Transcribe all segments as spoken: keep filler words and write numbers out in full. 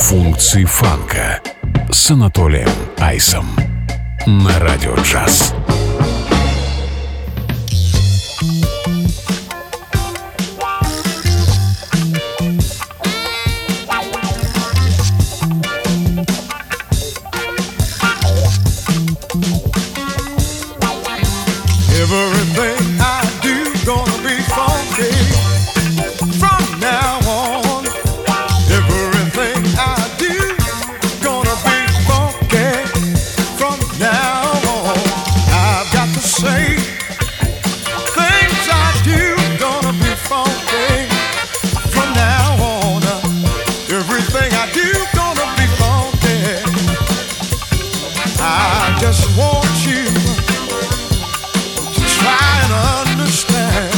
Функции фанка с Анатолием Айсом на Радио Джаз. Everything I do gonna be funky from now on. Everything I do gonna be funky from now on. I've got to say things I do gonna be funky from now on. Everything I do gonna be funky. I just want you try and understand.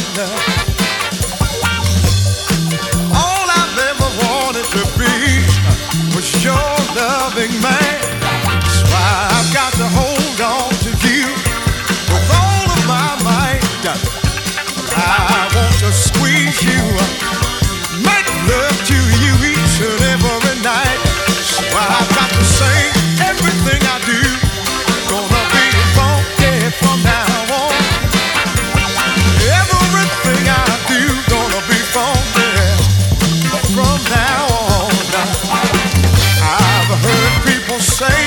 All I've ever wanted to be was your loving man. That's why I've got to hold on to you with all of my might. I want to squeeze you, make love to you each and every night. So I've got to say everything I do gonna be funky from now on. Everything I do gonna be funky from now on. I've heard people say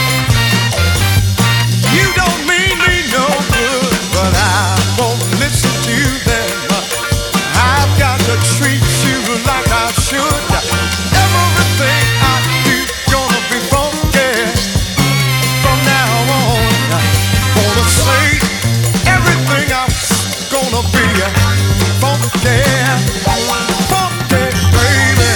you don't mean me no good, but I won't listen to them. I've got to treat you like I should. Everything I do gonna be funky from now on. Gonna say everything I'm gonna be funky, funky, baby.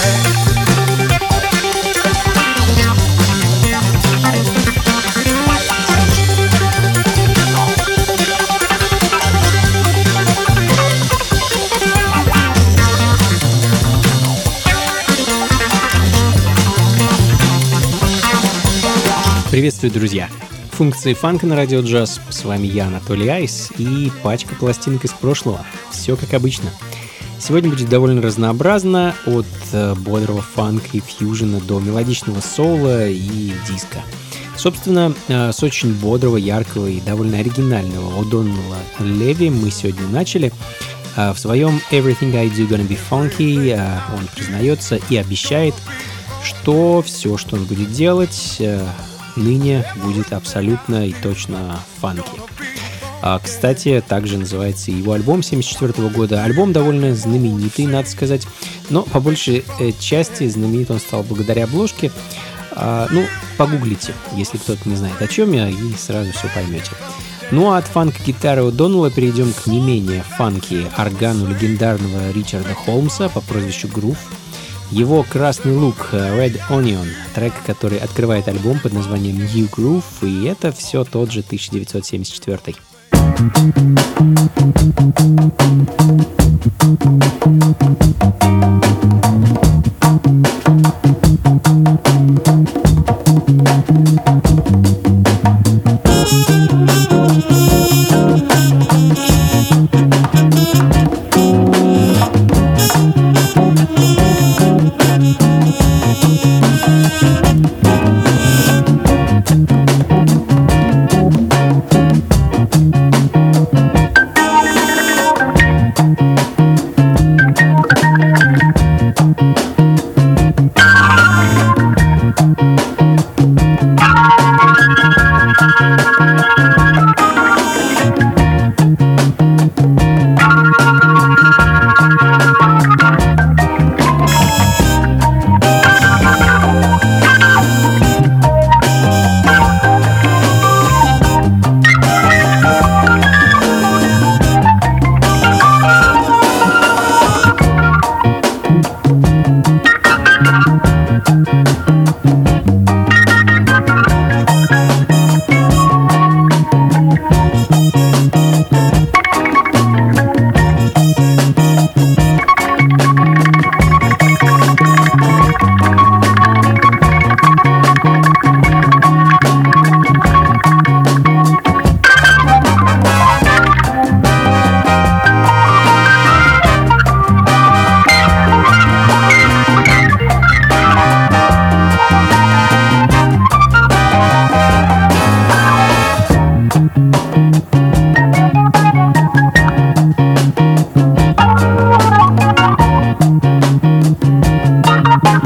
Приветствую, друзья! Функции фанка на Радио Джаз. С вами я, Анатолий Айс, и пачка пластинок из прошлого. Все как обычно. Сегодня будет довольно разнообразно, от э, бодрого фанка и фьюжена до мелодичного соула и диска. Собственно, э, с очень бодрого, яркого и довольно оригинального О'Доннелла Леви мы сегодня начали. Э, в своем Everything I Do Gonna Be Funky э, он признается и обещает, что все, что он будет делать, э, ныне будет абсолютно и точно фанки. А, кстати, также называется его альбом семьдесят четвёртого года. Альбом довольно знаменитый, надо сказать, но по большей э, части знаменит он стал благодаря обложке. А, ну, погуглите, если кто-то не знает, о чем я, и сразу все поймете. Ну а от фанк-гитары О'Доннелла перейдем к не менее фанки органу легендарного Ричарда Холмса по прозвищу Грув. Его красный лук Red Onion, трек, который открывает альбом под названием New Groove, и это все тот же тысяча девятьсот семьдесят четвёртый.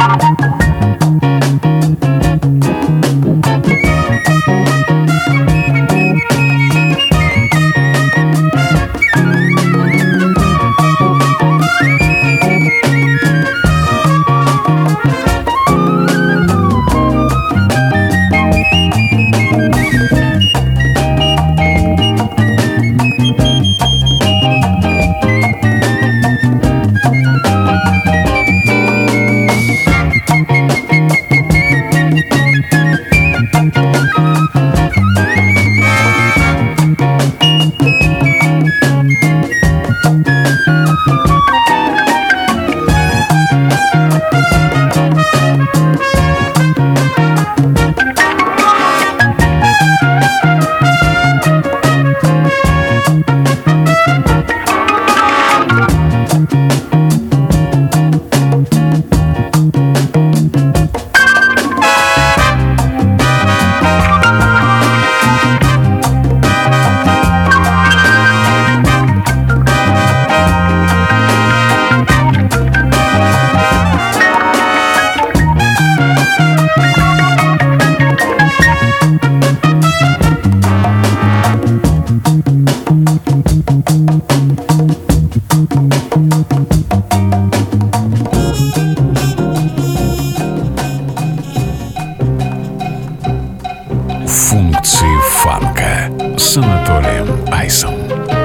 Функции фанка с Анатолием Айсом.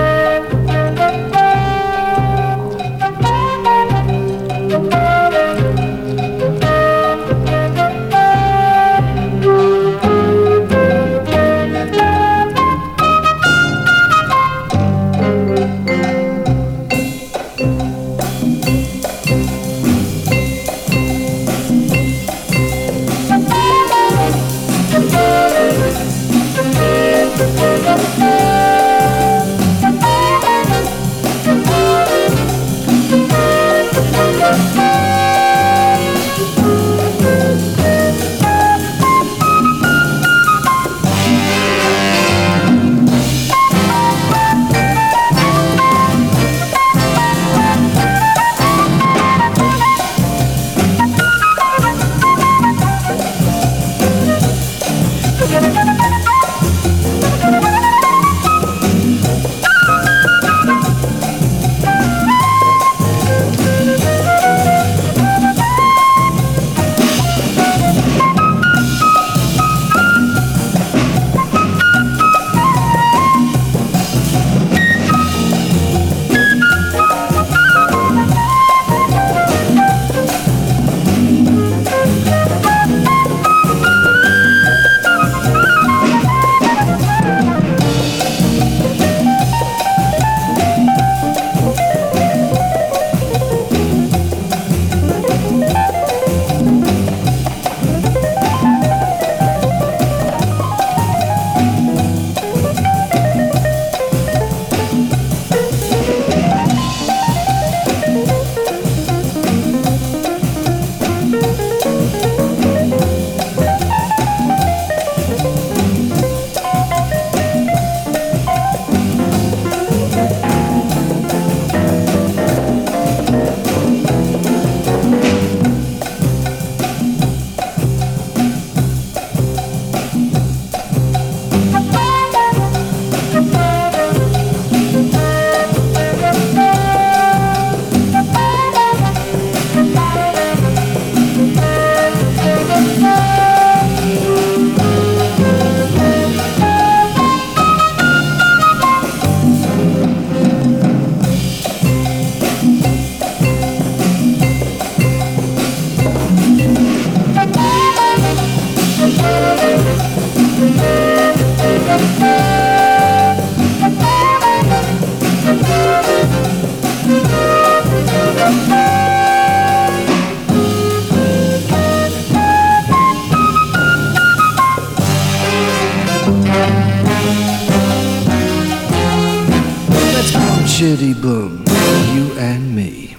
Chitty boom, you and me.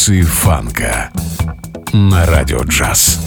Функции фанка на Радио Джаз.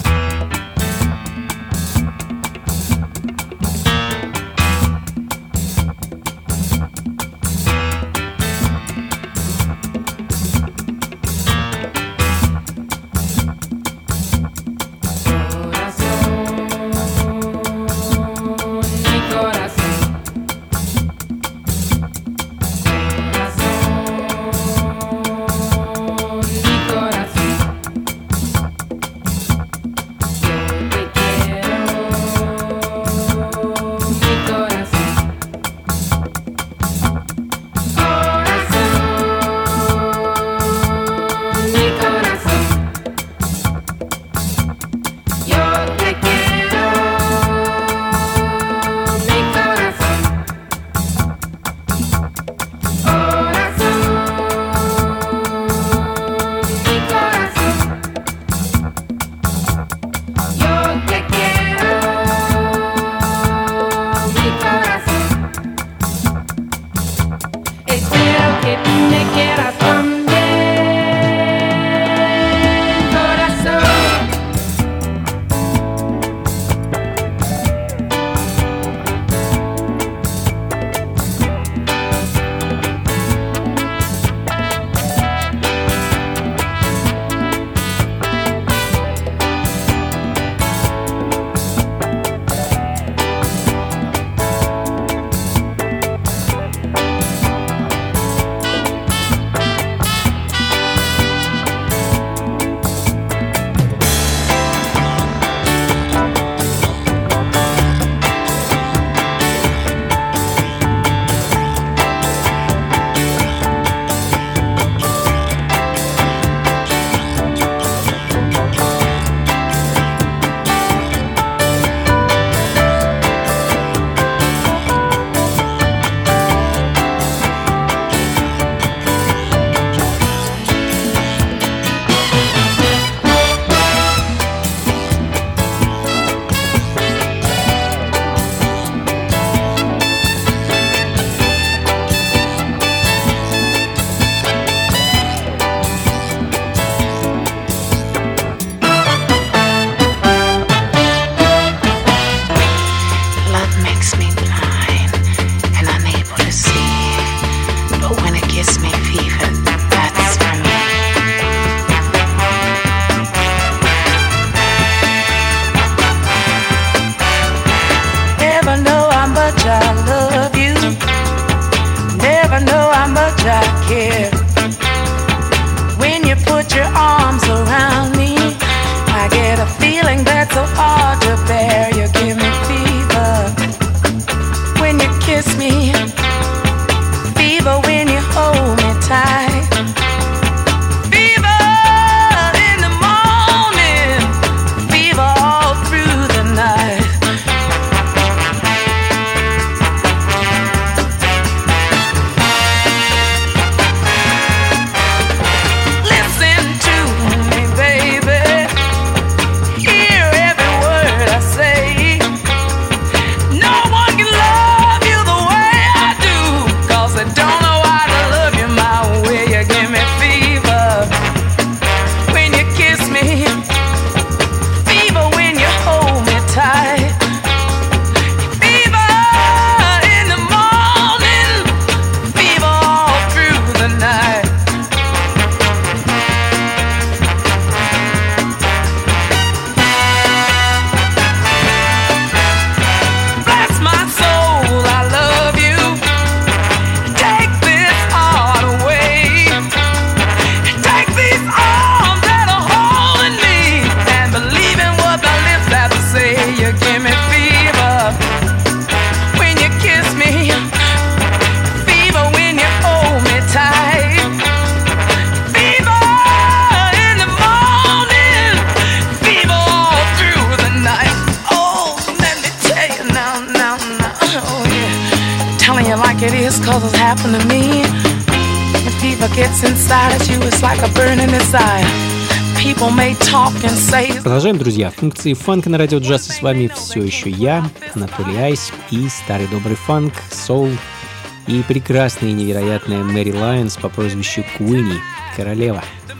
Продолжаем, друзья. Функции фанка на Радио Джаз. И с вами все еще я, Анатолий Айс, и старый добрый фанк, соул и прекрасная и невероятная Мэри Лайонс по прозвищу Куинни, королева.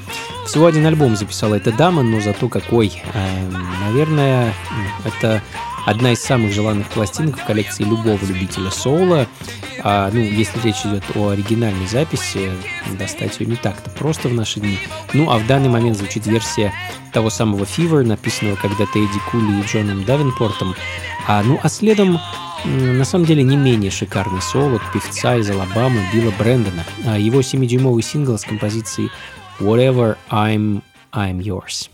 Всего один альбом записала эта дама, но зато какой. Наверное, это одна из самых желанных пластинок в коллекции любого любителя соула. А, ну, если речь идет о оригинальной записи, достать ее не так-то просто в наши дни. Ну, а в данный момент звучит версия того самого Fever, написанного когда-то Эдди Кули и Джоном Давенпортом. А, ну, а следом, на самом деле, не менее шикарный соул от певца из Алабамы Билла Брэндона. А его семидюймовый сингл с композицией Whatever I'm, I'm Yours.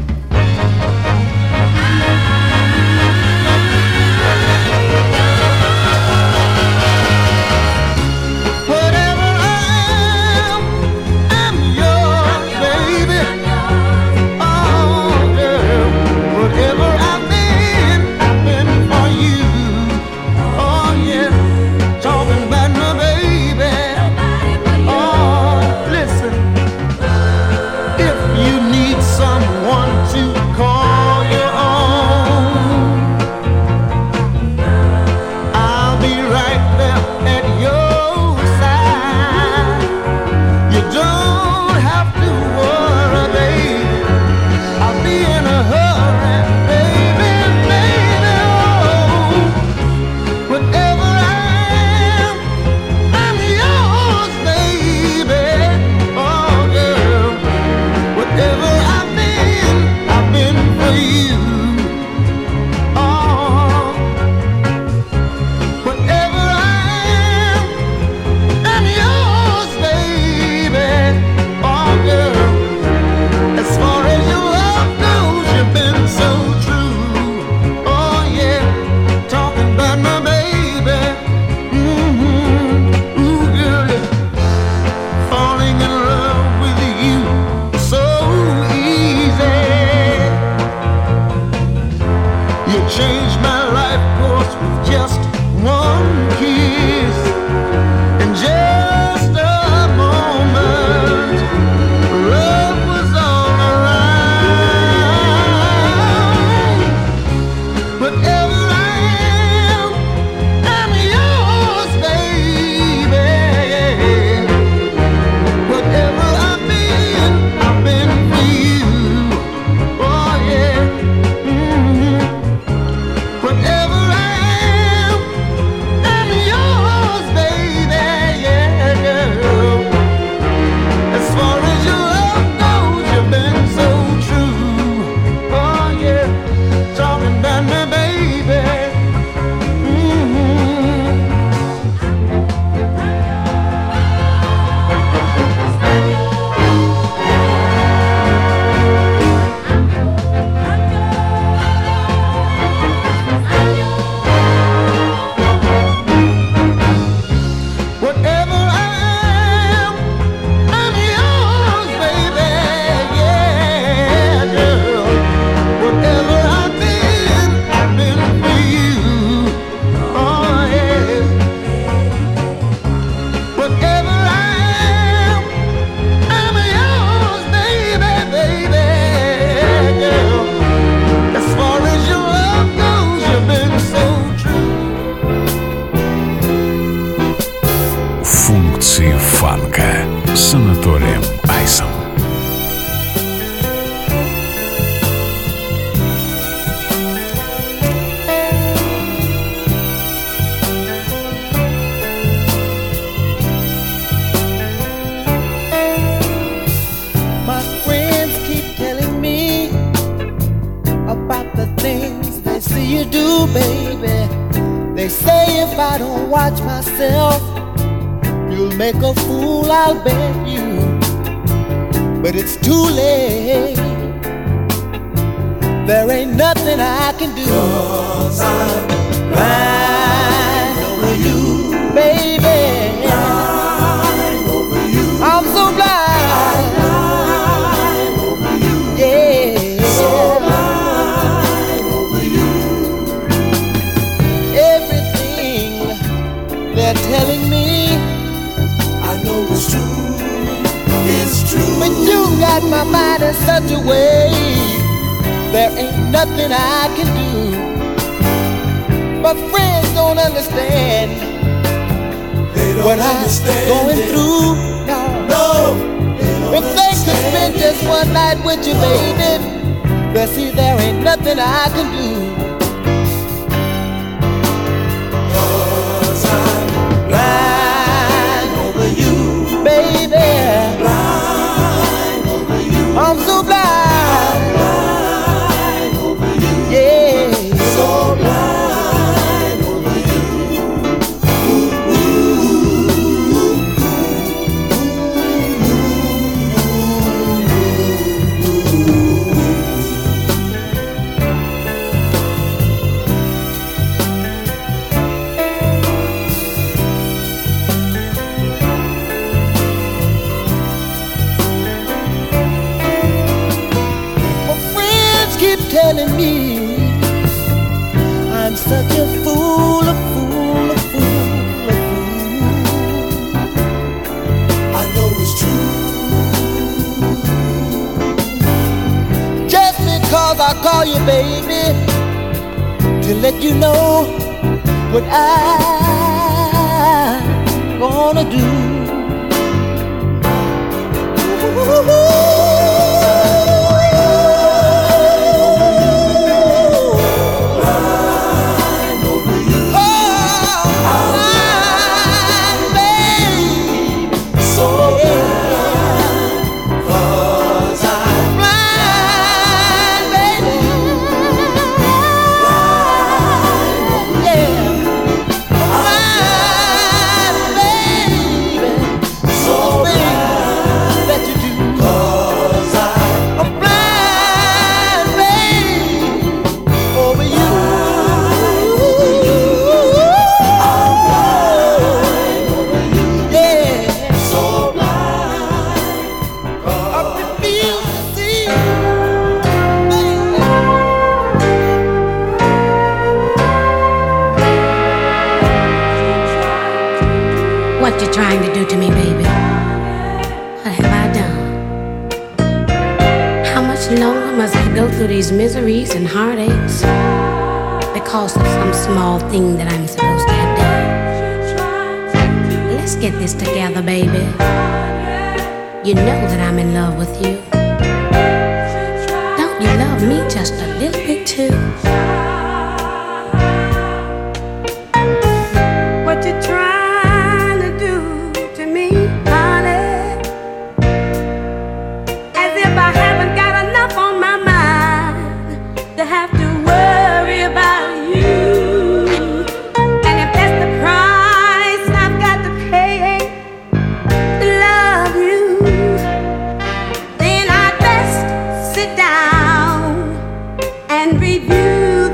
фанка с Анатолием Айсом. My friends keep telling me about the things they see you do, baby. They say if I don't watch myself, you'll make a fool, I'll bet you. But it's too late. There ain't nothing I can do. 'Cause I'm blind over you, baby. Blind over you. I'm so blind. Blind over you. Yeah. So blind over you. Everything they're telling me, it's true, it's true. But you got my mind in such a way, there ain't nothing I can do. My friends don't understand. They don't what understand I'm going it. through. No, no, they don't If they could spend just one night with you, baby, well, see, there ain't nothing I can do. 'Cause I'm blind over you, baby. Blind over you. I'm so blind. I'm blind over you. Yeah. So blind over you. Ooh, ooh, telling me I'm such a fool, a fool, a fool, a fool. I know it's true. Just because I call you baby to let you know what I'm gonna do. Ooh. What you trying to do to me, baby? What have I done? How much longer must I go through these miseries and heartaches because of some small thing that I'm supposed to have done? Let's get this together, baby. You know that I'm in love with you. Don't you love me just a little bit too? What you trying? Review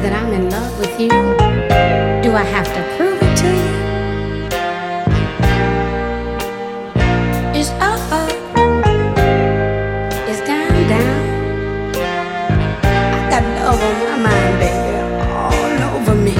that I'm in love with you? Do I have to prove it to you? It's up, up. It's down, down. I got love on my mind, baby, all over me.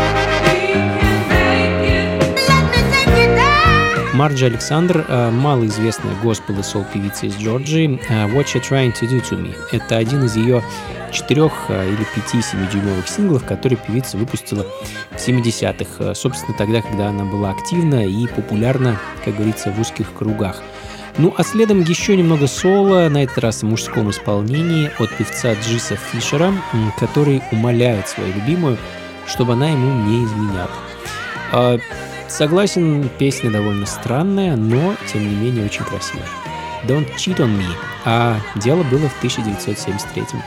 Марджи Александр, малоизвестная госпел и сол-певица из Джорджии. What You're Trying to Do to Me. Это один из ее четырех или пяти семидюймовых синглов, которые певица выпустила в семидесятых, собственно, тогда, когда она была активна и популярна, как говорится, в узких кругах. Ну, а следом еще немного соло, на этот раз в мужском исполнении от певца Джиса Фишера, который умоляет свою любимую, чтобы она ему не изменяла. Согласен, песня довольно странная, но, тем не менее, очень красивая. Don't Cheat on Me. А дело было в тысяча девятьсот семьдесят третьем.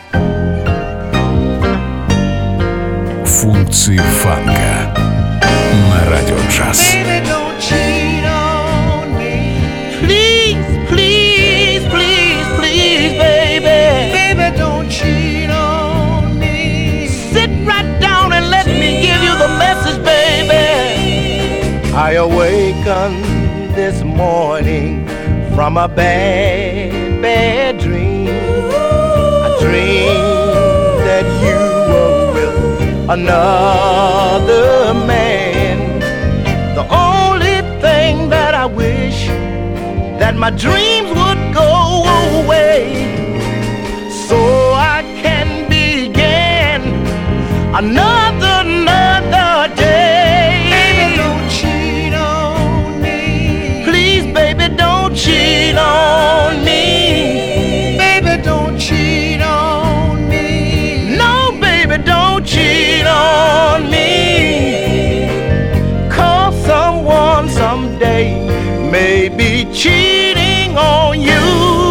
Функции фанка на радио джаз. Baby, don't cheat on me. Please, please, please, please, baby. Baby, don't cheat on me. Sit right down and let me give you the message, baby. I awakened this morning from a bad, bad dream. A dream that you were with another man. The only thing that I wish that my dreams would go away, so I can begin another, another day. Baby, don't cheat on me. Please, baby, don't cheat on me. Baby, don't cheat on me. No, baby, don't cheat on me. Cause someone someday may be cheating on you.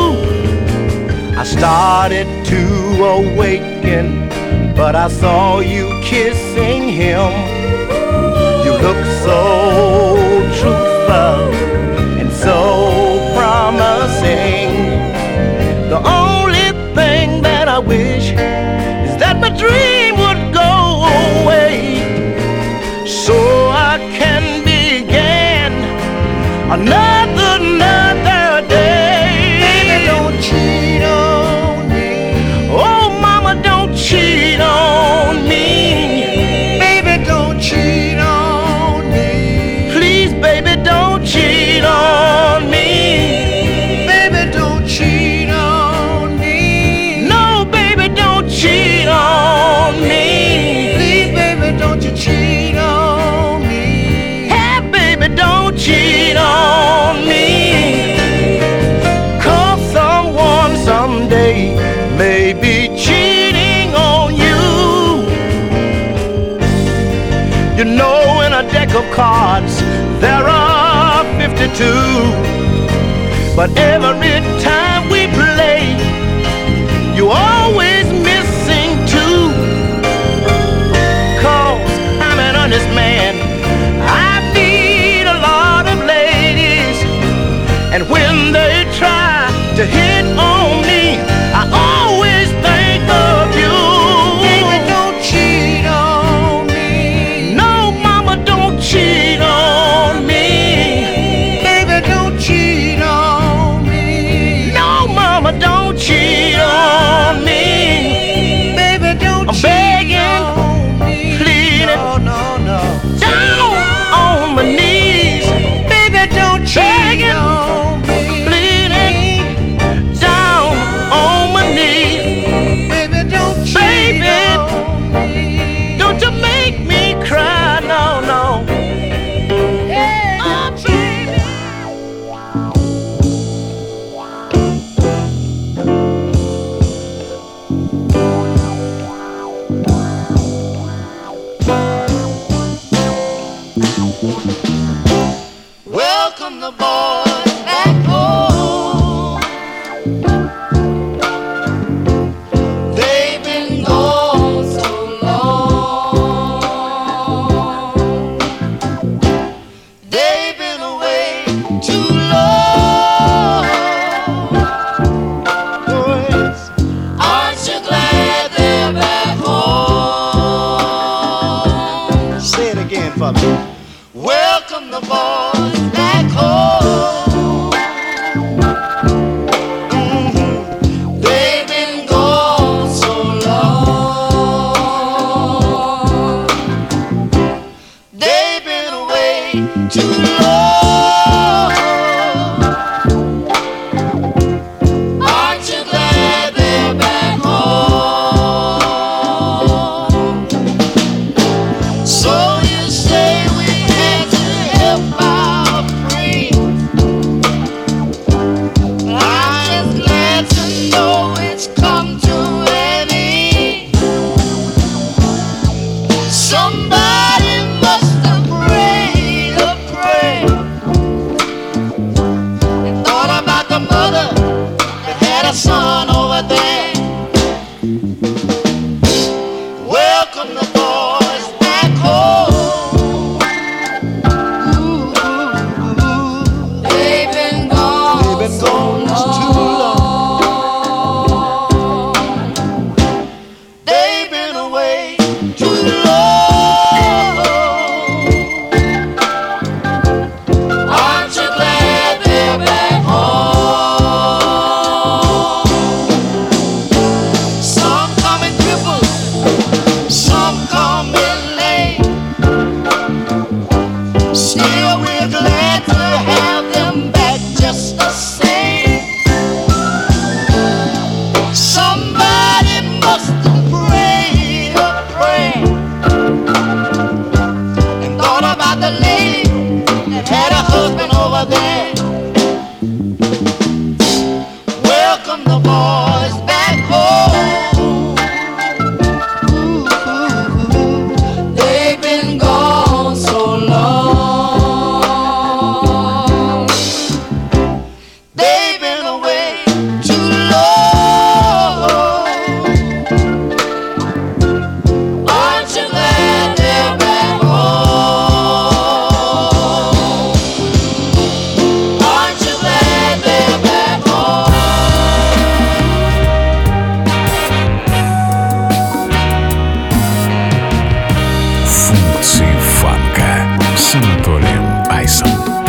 I started to awaken, but I saw you kissing him. You look so truthful and so promising. The only thing that I wish is that my dream would go away, so I can begin another, another day. Baby, don't cheat on me. Oh, mama, don't cheat on me. Baby, don't cheat on me. Please, baby, don't cheat on me. Baby, don't cheat on me. No, baby, don't cheat on me. Please, baby, don't you cheat on me. Hey, baby, don't cheat on me. Cause someone someday may be cheating on you. You know, in a deck of cards there are fifty-two, but every time we play you always missing two. Cause I'm an honest man, I meet a lot of ladies, and when they try to hit on me, I always think of you. Baby, don't cheat on me. No, mama, don't cheat on me. Baby, don't cheat on me. No, mama, don't cheat on me. welcome the boys back home. Mm-hmm. They've been gone so long. They've been away too long. Aren't you glad they're back home? So you say we had to help our friends. I'm just glad to know it's come to an end. Somebody must have prayed a prayer and thought about the mother that had a son over there. Welcome the boys back home. They've been gone, They've been so gone too long. They've been away too long. Aren't you glad they're back home? Some coming crippled, some coming lame. Still we're glad to have them back just the same. Somebody must have prayed a prayer and thought about the lady that had a husband over there. Welcome the boys back home. They've been gone so long. They've been away too long. Aren't you glad they're back home? Aren't you glad they're back home? Функции фанка с Анатолием Айсом.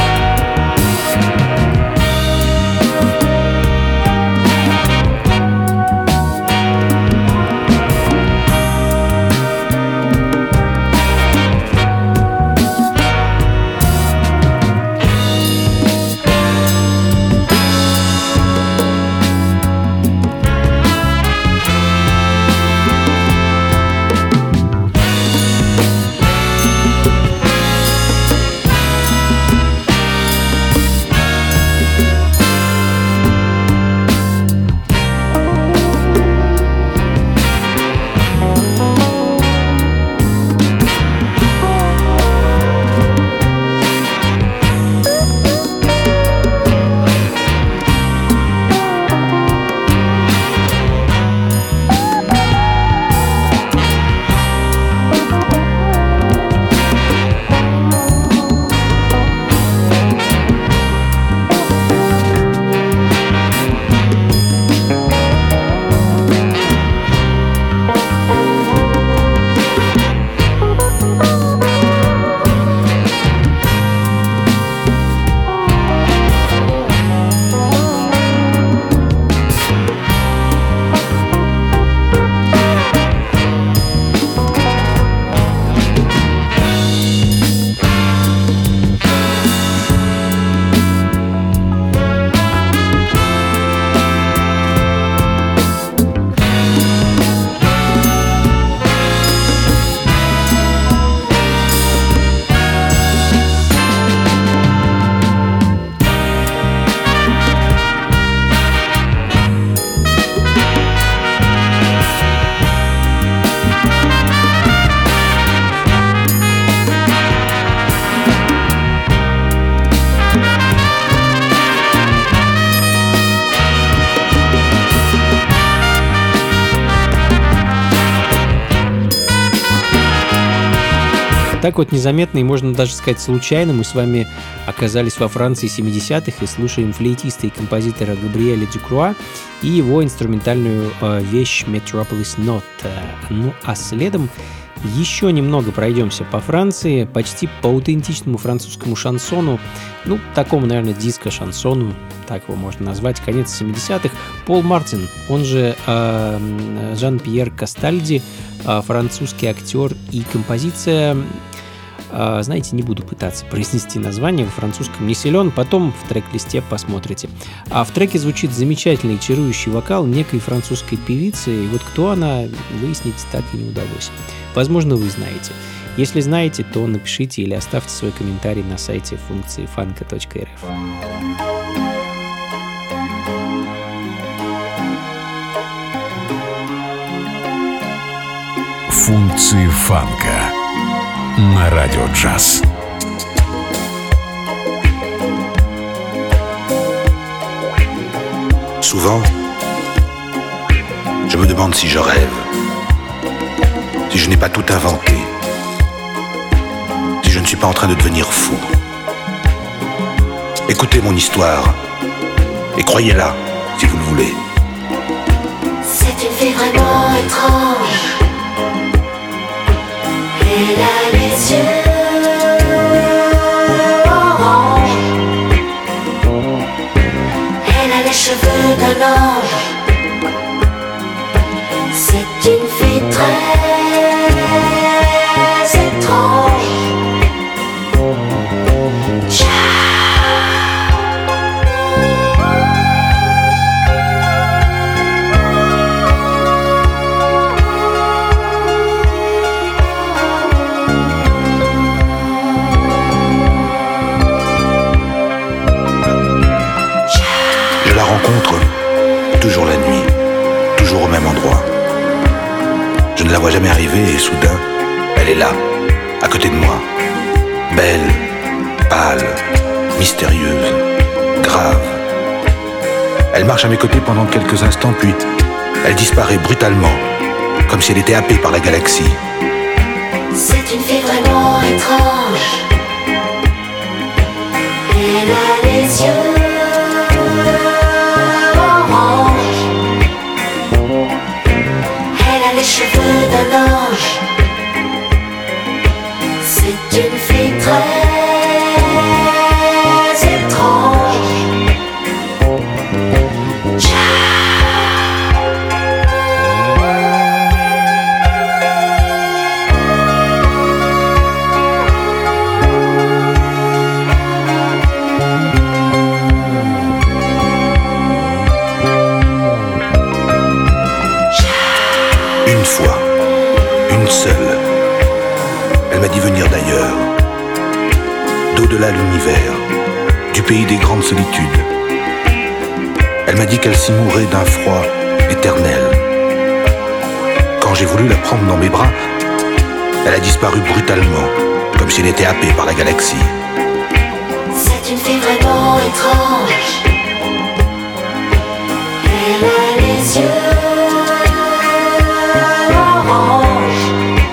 Так вот незаметно и, можно даже сказать, случайно мы с вами оказались во Франции семидесятых и слушаем флейтиста и композитора Габриэля Дюкруа и его инструментальную э, вещь Metropolis Note. Ну а следом Еще немного пройдемся по Франции, почти по аутентичному французскому шансону, ну, такому, наверное, диско-шансону, так его можно назвать, конец семидесятых. Пол Мартин, он же э, Жан-Пьер Кастальди, э, французский актер, и композиция, э, знаете, не буду пытаться произнести название, в французском не силен, потом в трек-листе посмотрите. А в треке звучит замечательный чарующий вокал некой французской певицы, и вот кто она, выяснить так и не удалось. Возможно, вы знаете. Если знаете, то напишите или оставьте свой комментарий на сайте функции фанка точка эр эф. Функции фанка на радио джаз. Souvent, je me demande si je rêve, si je n'ai pas tout inventé, si je ne suis pas en train de devenir fou. Écoutez mon histoire et croyez-la si vous le voulez. C'est une fille vraiment étrange. Elle a les yeux orange. Elle a les cheveux d'un ange. C'est une fille très étrange. Je la rencontre toujours la nuit, toujours au même endroit. Je ne la vois jamais arriver et soudain, elle est là, à côté de moi. Belle, pâle, mystérieuse, grave. Elle marche à mes côtés pendant quelques instants, puis elle disparaît brutalement, comme si elle était happée par la galaxie. C'est une fille vraiment étrange. Elle a les yeux orange. Elle a les cheveux d'un ange. C'est une fille très étrange. Une fois, une seule, elle m'a dit venir d'ailleurs, d'au-delà de l'univers, du pays des grandes solitudes. Elle m'a dit qu'elle s'y mourait d'un froid éternel. Quand j'ai voulu la prendre dans mes bras, elle a disparu brutalement, comme si elle était happée par la galaxie. C'est une fille vraiment étrange. Elle a les yeux orange.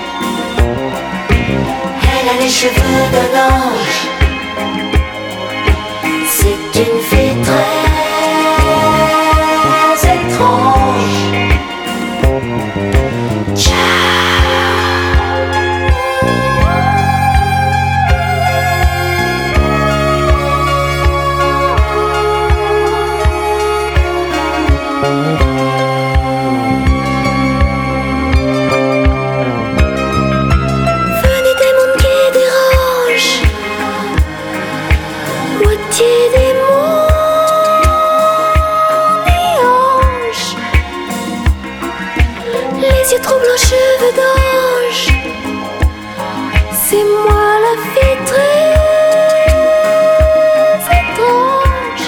Elle a les cheveux d'un ange. C'est une fille très étrange. Venez des mondes qui dérangent, moitié démon et ange, les yeux troublants, cheveux d'ange. C'est moi la fille très étrange.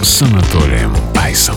с Анатолием Айсом.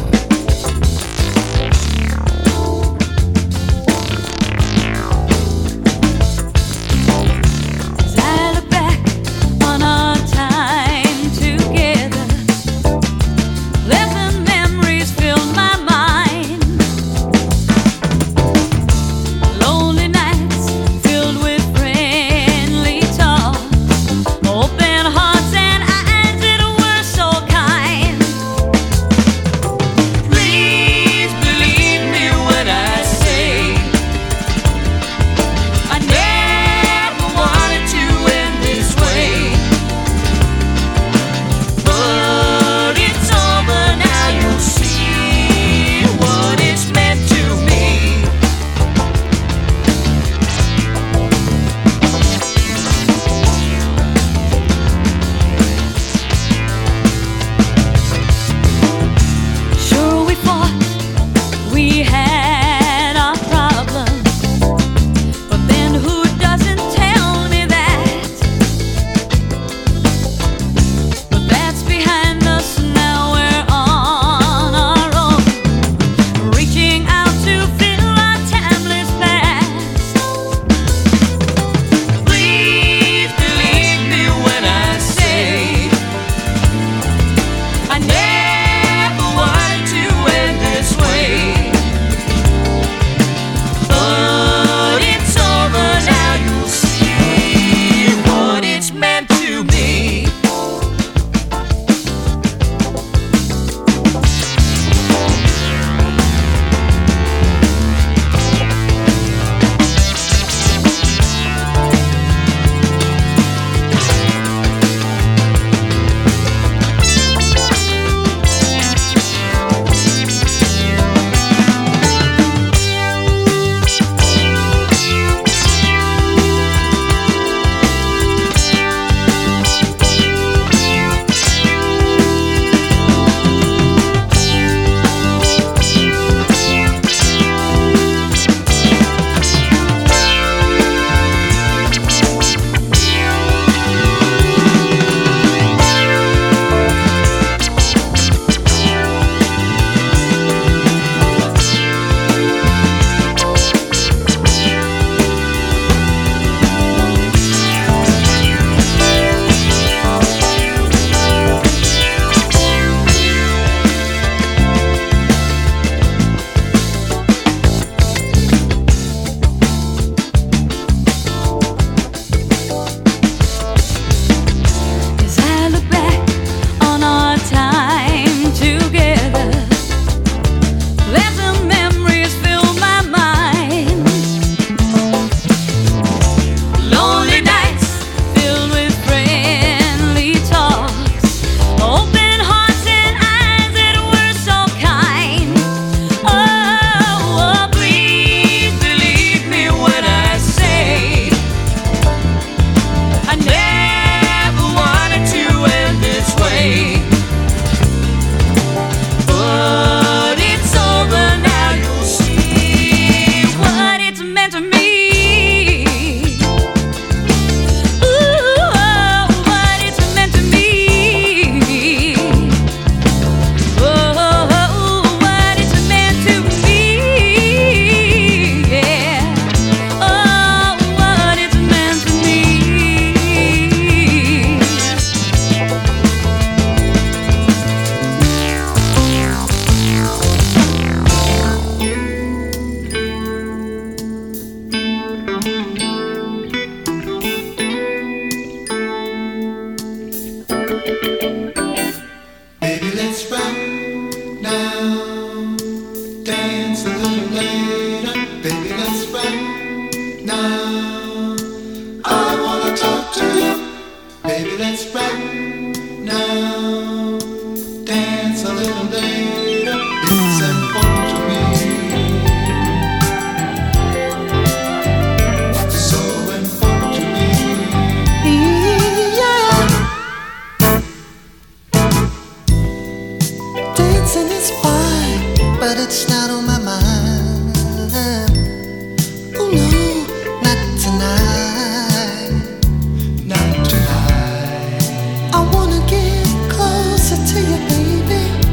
I wanna get closer to you, baby.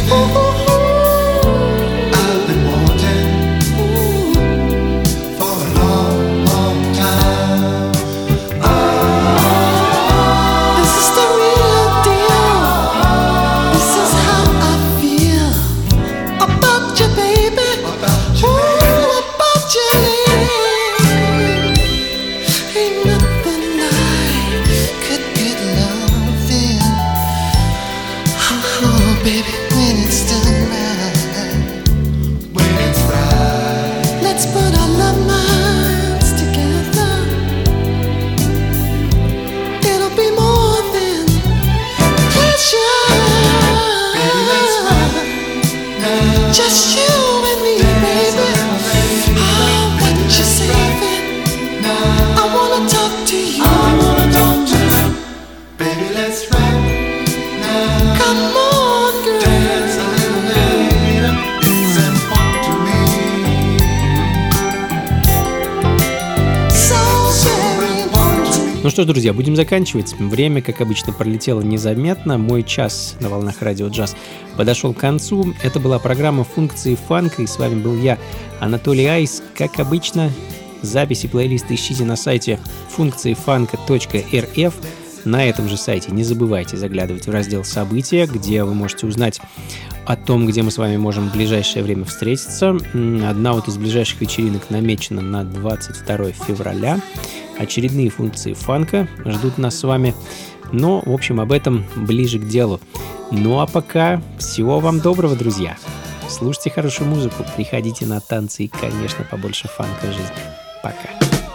Ну что ж, друзья, будем заканчивать. Время, как обычно, пролетело незаметно. Мой час на волнах радио джаз подошел к концу. Это была программа «Функции фанка», и с вами был я, Анатолий Айс. Как обычно, записи плейлиста ищите на сайте функции фанка точка эр эф. На этом же сайте не забывайте заглядывать в раздел «События», где вы можете узнать о том, где мы с вами можем в ближайшее время встретиться. Одна вот из ближайших вечеринок намечена на двадцать второе февраля. Очередные функции фанка ждут нас с вами. Но, в общем, об этом ближе к делу. Ну а пока всего вам доброго, друзья. Слушайте хорошую музыку, приходите на танцы и, конечно, побольше фанка в жизни. Пока.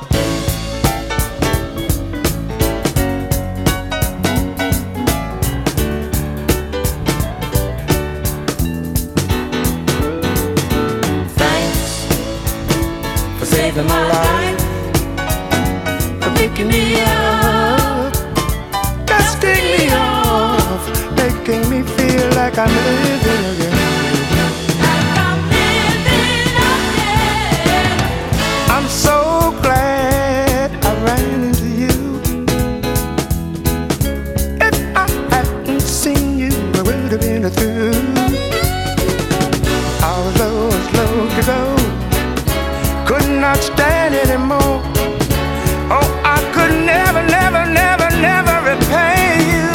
Saving my life, for picking me up, dusting me off, making me feel like I'm living again. Like I'm living again. I'm so glad I ran into you. If I hadn't seen you, I would have been through. I was low and slow to go. Could not stand anymore. Oh, I could never, never, never, never repay you.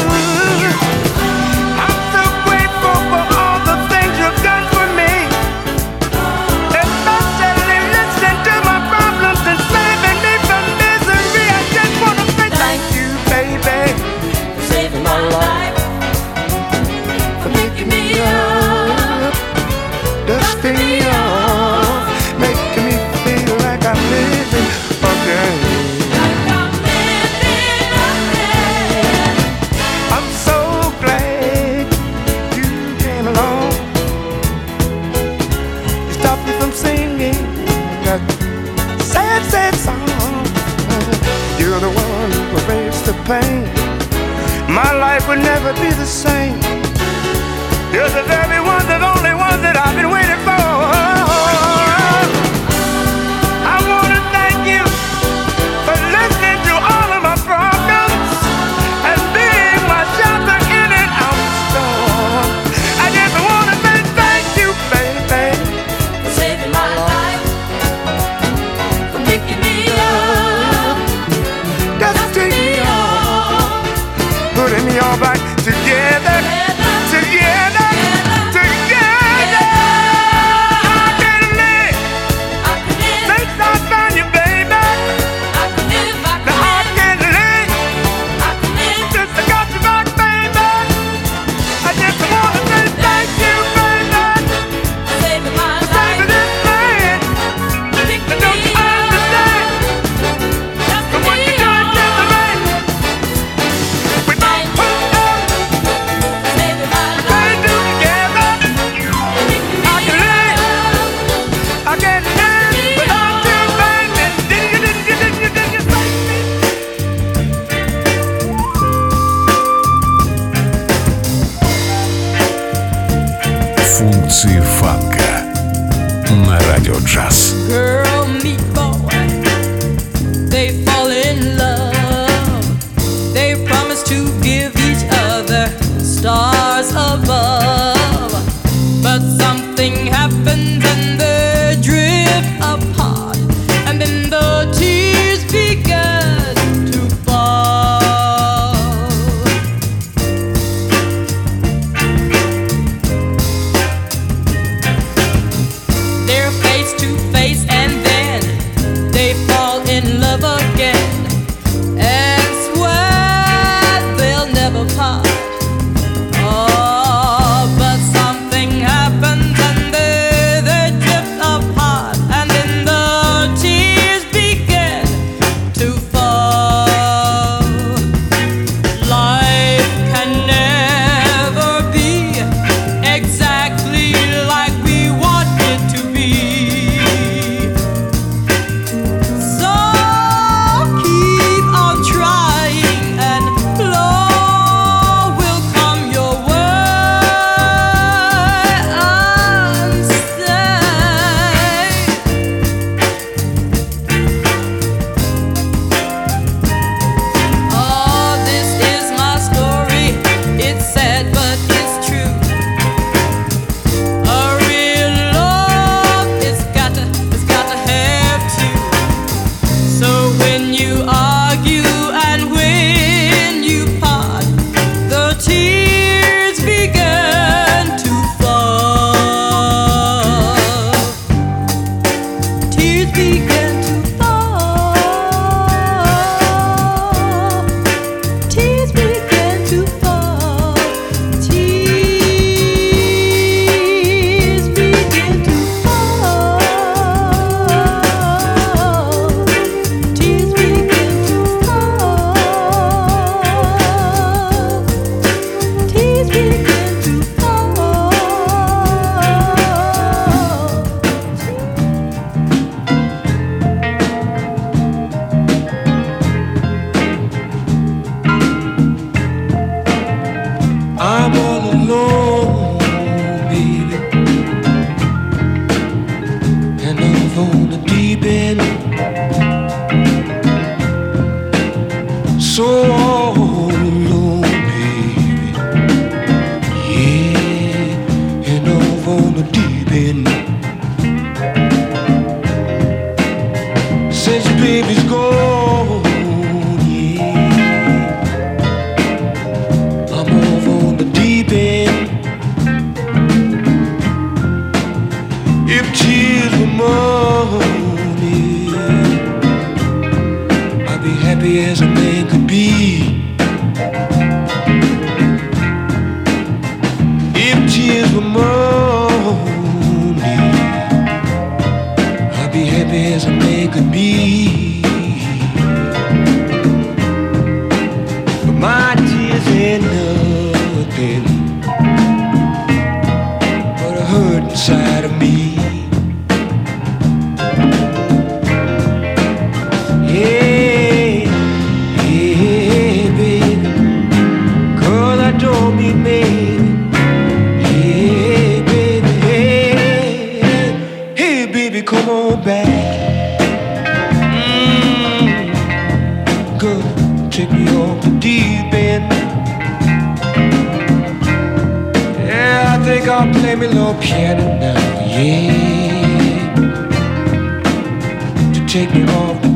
I'm so grateful for all the things you've done for me, especially listening to my problems and saving me from misery. I just wanna say thank you, baby, for saving my life, for picking me up, dusting me off, making me feel like I'm living again. Like I'm living again. I'm so glad you came along. You stopped me from singing that sad, sad song. You're the one who erased the pain. My life would never be the same. You're the very one, the only one that I've been waiting for. Back together, together, together. I can live since I found you, baby. Now I can live since I got you back, baby. I just wanna say thank you, baby, for saving my life, for saving this man. And don't you understand? For what you done to the man. With my Функции фанка на радио джаз. Girl, meet boy, they fall in love. They promise to give each other stars above. happy as a man could be. If tears were money, I'd be happy as a man could be. But my tears ain't nothing but a hurt inside of me. Hey, hey, baby, 'cause I don't mean maybe. Hey, baby, hey, hey, baby, come on back. Mm, girl, take me off the deep end. Yeah, I think I'll play me a little piano now, yeah, to take me off the